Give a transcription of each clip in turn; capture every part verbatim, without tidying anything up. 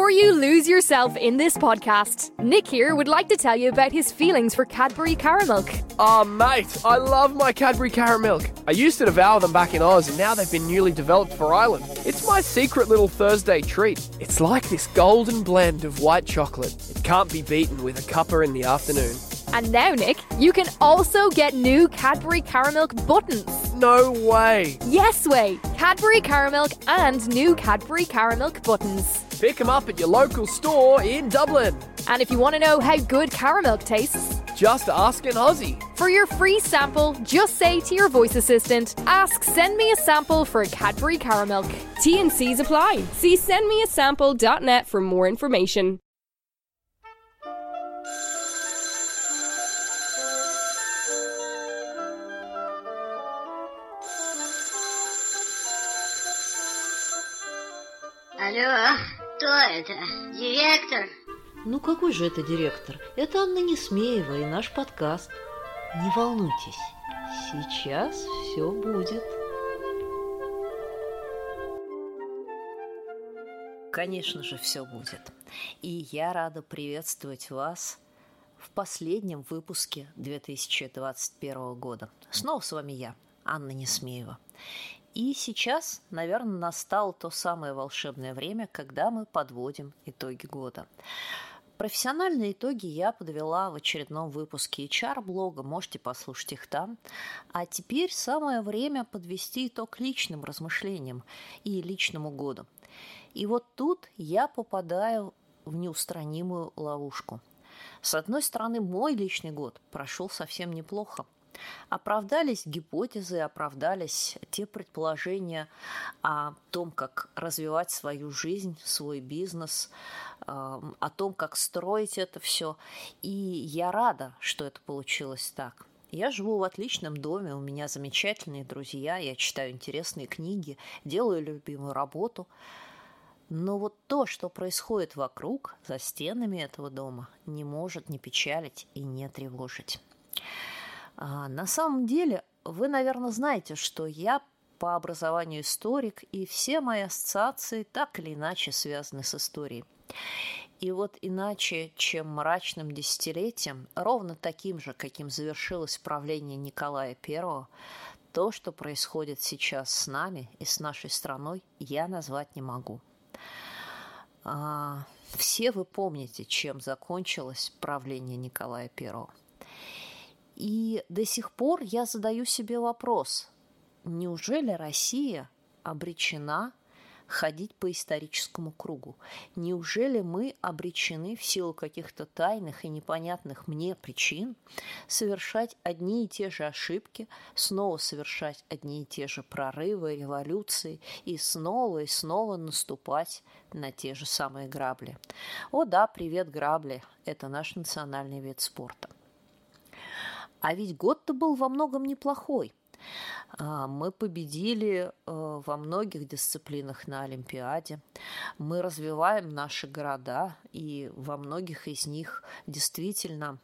Before you lose yourself in this podcast, Nick here would like to tell you about his feelings for Cadbury Caramilk. Oh, mate, I love my Cadbury Caramilk. I used to devour them back in Oz, and now they've been newly developed for Ireland. It's my secret little Thursday treat. It's like this golden blend of white chocolate. It can't be beaten with a cuppa in the afternoon. And now, Nick, you can also get new Cadbury Caramilk buttons. No way. Yes way. Cadbury Caramilk and new Cadbury Caramilk buttons. Pick them up at your local store in Dublin. And if you want to know how good Caramilk tastes, just ask an Aussie. For your free sample, just say to your voice assistant, ask send me a sample for Cadbury Caramilk. T and C's apply. See send me a sample dot net for more information. Алло, кто это? Директор? Ну какой же это директор? Это Анна Несмеева и наш подкаст. Не волнуйтесь, сейчас все будет. Конечно же, все будет. И я рада приветствовать вас в последнем выпуске две тысячи двадцать первого года. Снова с вами я, Анна Несмеева. И сейчас, наверное, настало то самое волшебное время, когда мы подводим итоги года. Профессиональные итоги я подвела в очередном выпуске эйч ар-блога, можете послушать их там. А теперь самое время подвести итог личным размышлениям и личному году. И вот тут я попадаю в неустранимую ловушку. С одной стороны, мой личный год прошел совсем неплохо. Оправдались гипотезы, оправдались те предположения о том, как развивать свою жизнь, свой бизнес, о том, как строить это все. И я рада, что это получилось так. Я живу в отличном доме, у меня замечательные друзья, я читаю интересные книги, делаю любимую работу. Но вот то, что происходит вокруг, за стенами этого дома, не может не печалить и не тревожить. А на самом деле, вы, наверное, знаете, что я по образованию историк, и все мои ассоциации так или иначе связаны с историей. И вот иначе, чем мрачным десятилетием, ровно таким же, каким завершилось правление Николая Первого, то, что происходит сейчас с нами и с нашей страной, я назвать не могу. А, все вы помните, чем закончилось правление Николая Первого. И до сих пор я задаю себе вопрос, неужели Россия обречена ходить по историческому кругу? Неужели мы обречены в силу каких-то тайных и непонятных мне причин совершать одни и те же ошибки, снова совершать одни и те же прорывы, революции и снова и снова наступать на те же самые грабли? О да, привет, грабли, это наш национальный вид спорта. А ведь год-то был во многом неплохой. Мы победили во многих дисциплинах на Олимпиаде. Мы развиваем наши города, и во многих из них действительно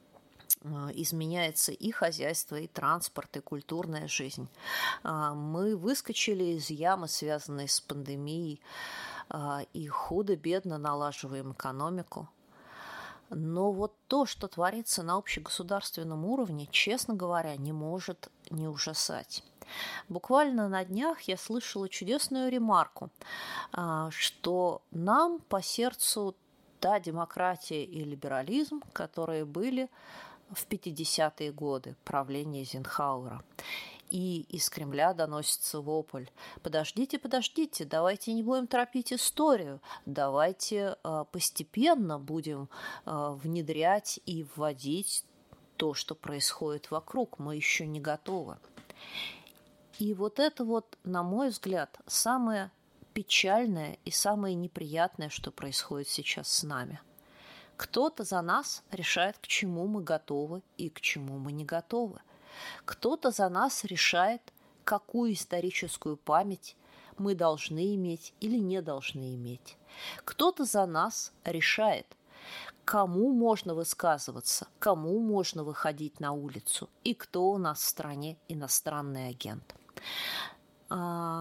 изменяется и хозяйство, и транспорт, и культурная жизнь. Мы выскочили из ямы, связанной с пандемией, и худо-бедно налаживаем экономику. Но вот то, что творится на общегосударственном уровне, честно говоря, не может не ужасать. Буквально на днях я слышала чудесную ремарку, что нам по сердцу та демократия и либерализм, которые были в пятидесятые годы правления Эйзенхауэра. И из Кремля доносится вопль: подождите, подождите, давайте не будем торопить историю, давайте э, постепенно будем э, внедрять и вводить то, что происходит вокруг, мы еще не готовы. И вот это вот, на мой взгляд, самое печальное и самое неприятное, что происходит сейчас с нами. Кто-то за нас решает, к чему мы готовы и к чему мы не готовы. Кто-то за нас решает, какую историческую память мы должны иметь или не должны иметь. Кто-то за нас решает, кому можно высказываться, кому можно выходить на улицу и кто у нас в стране иностранный агент.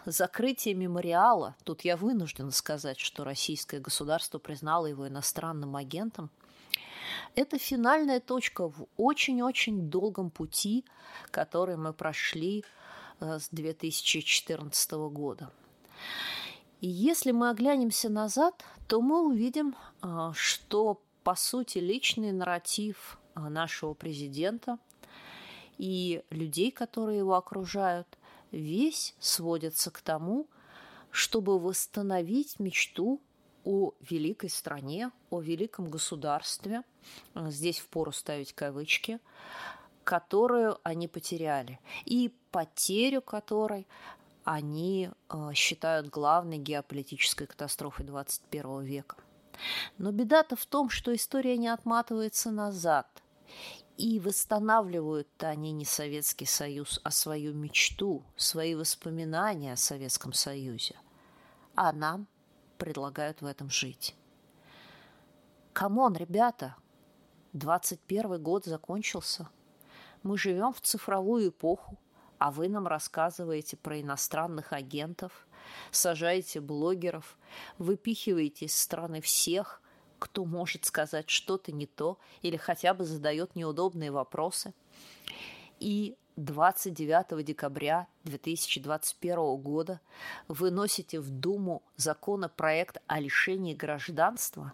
закрытие мемориала, тут я вынуждена сказать, что российское государство признало его иностранным агентом, это финальная точка в очень-очень долгом пути, который мы прошли с две тысячи четырнадцатого года. И если мы оглянемся назад, то мы увидим, что, по сути, личный нарратив нашего президента и людей, которые его окружают, весь сводится к тому, чтобы восстановить мечту о великой стране, о великом государстве, здесь впору ставить кавычки, которую они потеряли, и потерю которой они э, считают главной геополитической катастрофой двадцать первого века. Но беда-то в том, что история не отматывается назад, и восстанавливают-то они не Советский Союз, а свою мечту, свои воспоминания о Советском Союзе. А нам предлагают в этом жить. Камон, ребята, двадцать первый год закончился. Мы живем в цифровую эпоху, а вы нам рассказываете про иностранных агентов, сажаете блогеров, выпихиваете из страны всех, кто может сказать что-то не то или хотя бы задает неудобные вопросы. И двадцать девятого декабря две тысячи двадцать первого года вы носите в Думу законопроект о лишении гражданства.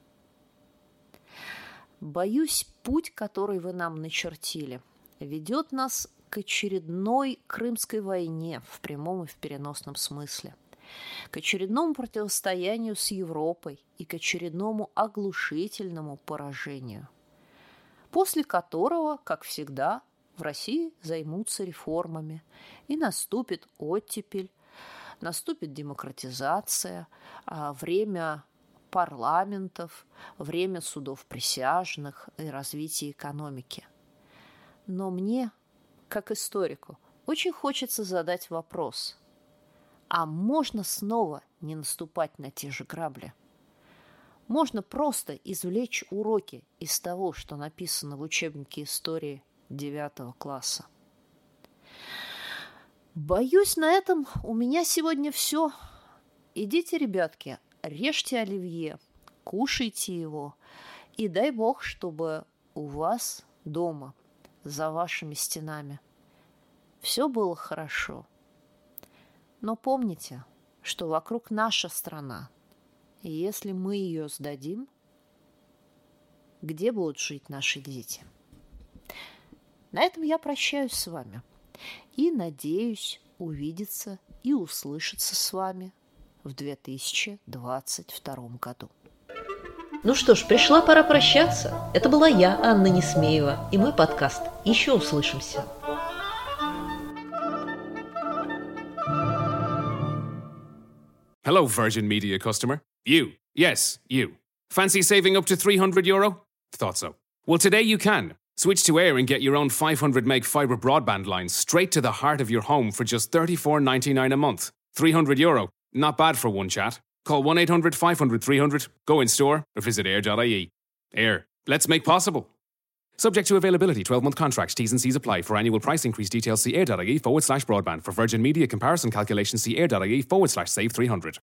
Боюсь, путь, который вы нам начертили, ведет нас к очередной Крымской войне в прямом и в переносном смысле, к очередному противостоянию с Европой и к очередному оглушительному поражению, после которого, как всегда, в России займутся реформами, и наступит оттепель, наступит демократизация, время парламентов, время судов присяжных и развитие экономики. Но мне, как историку, очень хочется задать вопрос: а можно снова не наступать на те же грабли? Можно просто извлечь уроки из того, что написано в учебнике истории девятого класса. Боюсь, на этом у меня сегодня все. Идите, ребятки, режьте оливье, кушайте его, и дай бог, чтобы у вас дома, за вашими стенами, все было хорошо. Но помните, что вокруг наша страна, и если мы ее сдадим, где будут жить наши дети? На этом я прощаюсь с вами и надеюсь увидеться и услышаться с вами в две тысячи двадцать втором году. Ну что ж, пришла пора прощаться. Это была я, Анна Несмеева, и мой подкаст. Еще услышимся. Hello, Virgin Media customer. You. Yes, you. Fancy saving up to three hundred euro? Thought so. Well, today you can. Switch to Air and get your own five hundred meg fibre broadband line straight to the heart of your home for just thirty-four ninety-nine a month. three hundred euro. Not bad for one chat. Call one eight hundred five hundred three hundred, go in store, or visit air dot I E. Air. Let's make possible. Subject to availability, twelve-month contracts, T's and C's apply. For annual price increase details, see air dot I E forward slash broadband. For Virgin Media comparison calculations, see air dot I E forward slash save three hundred.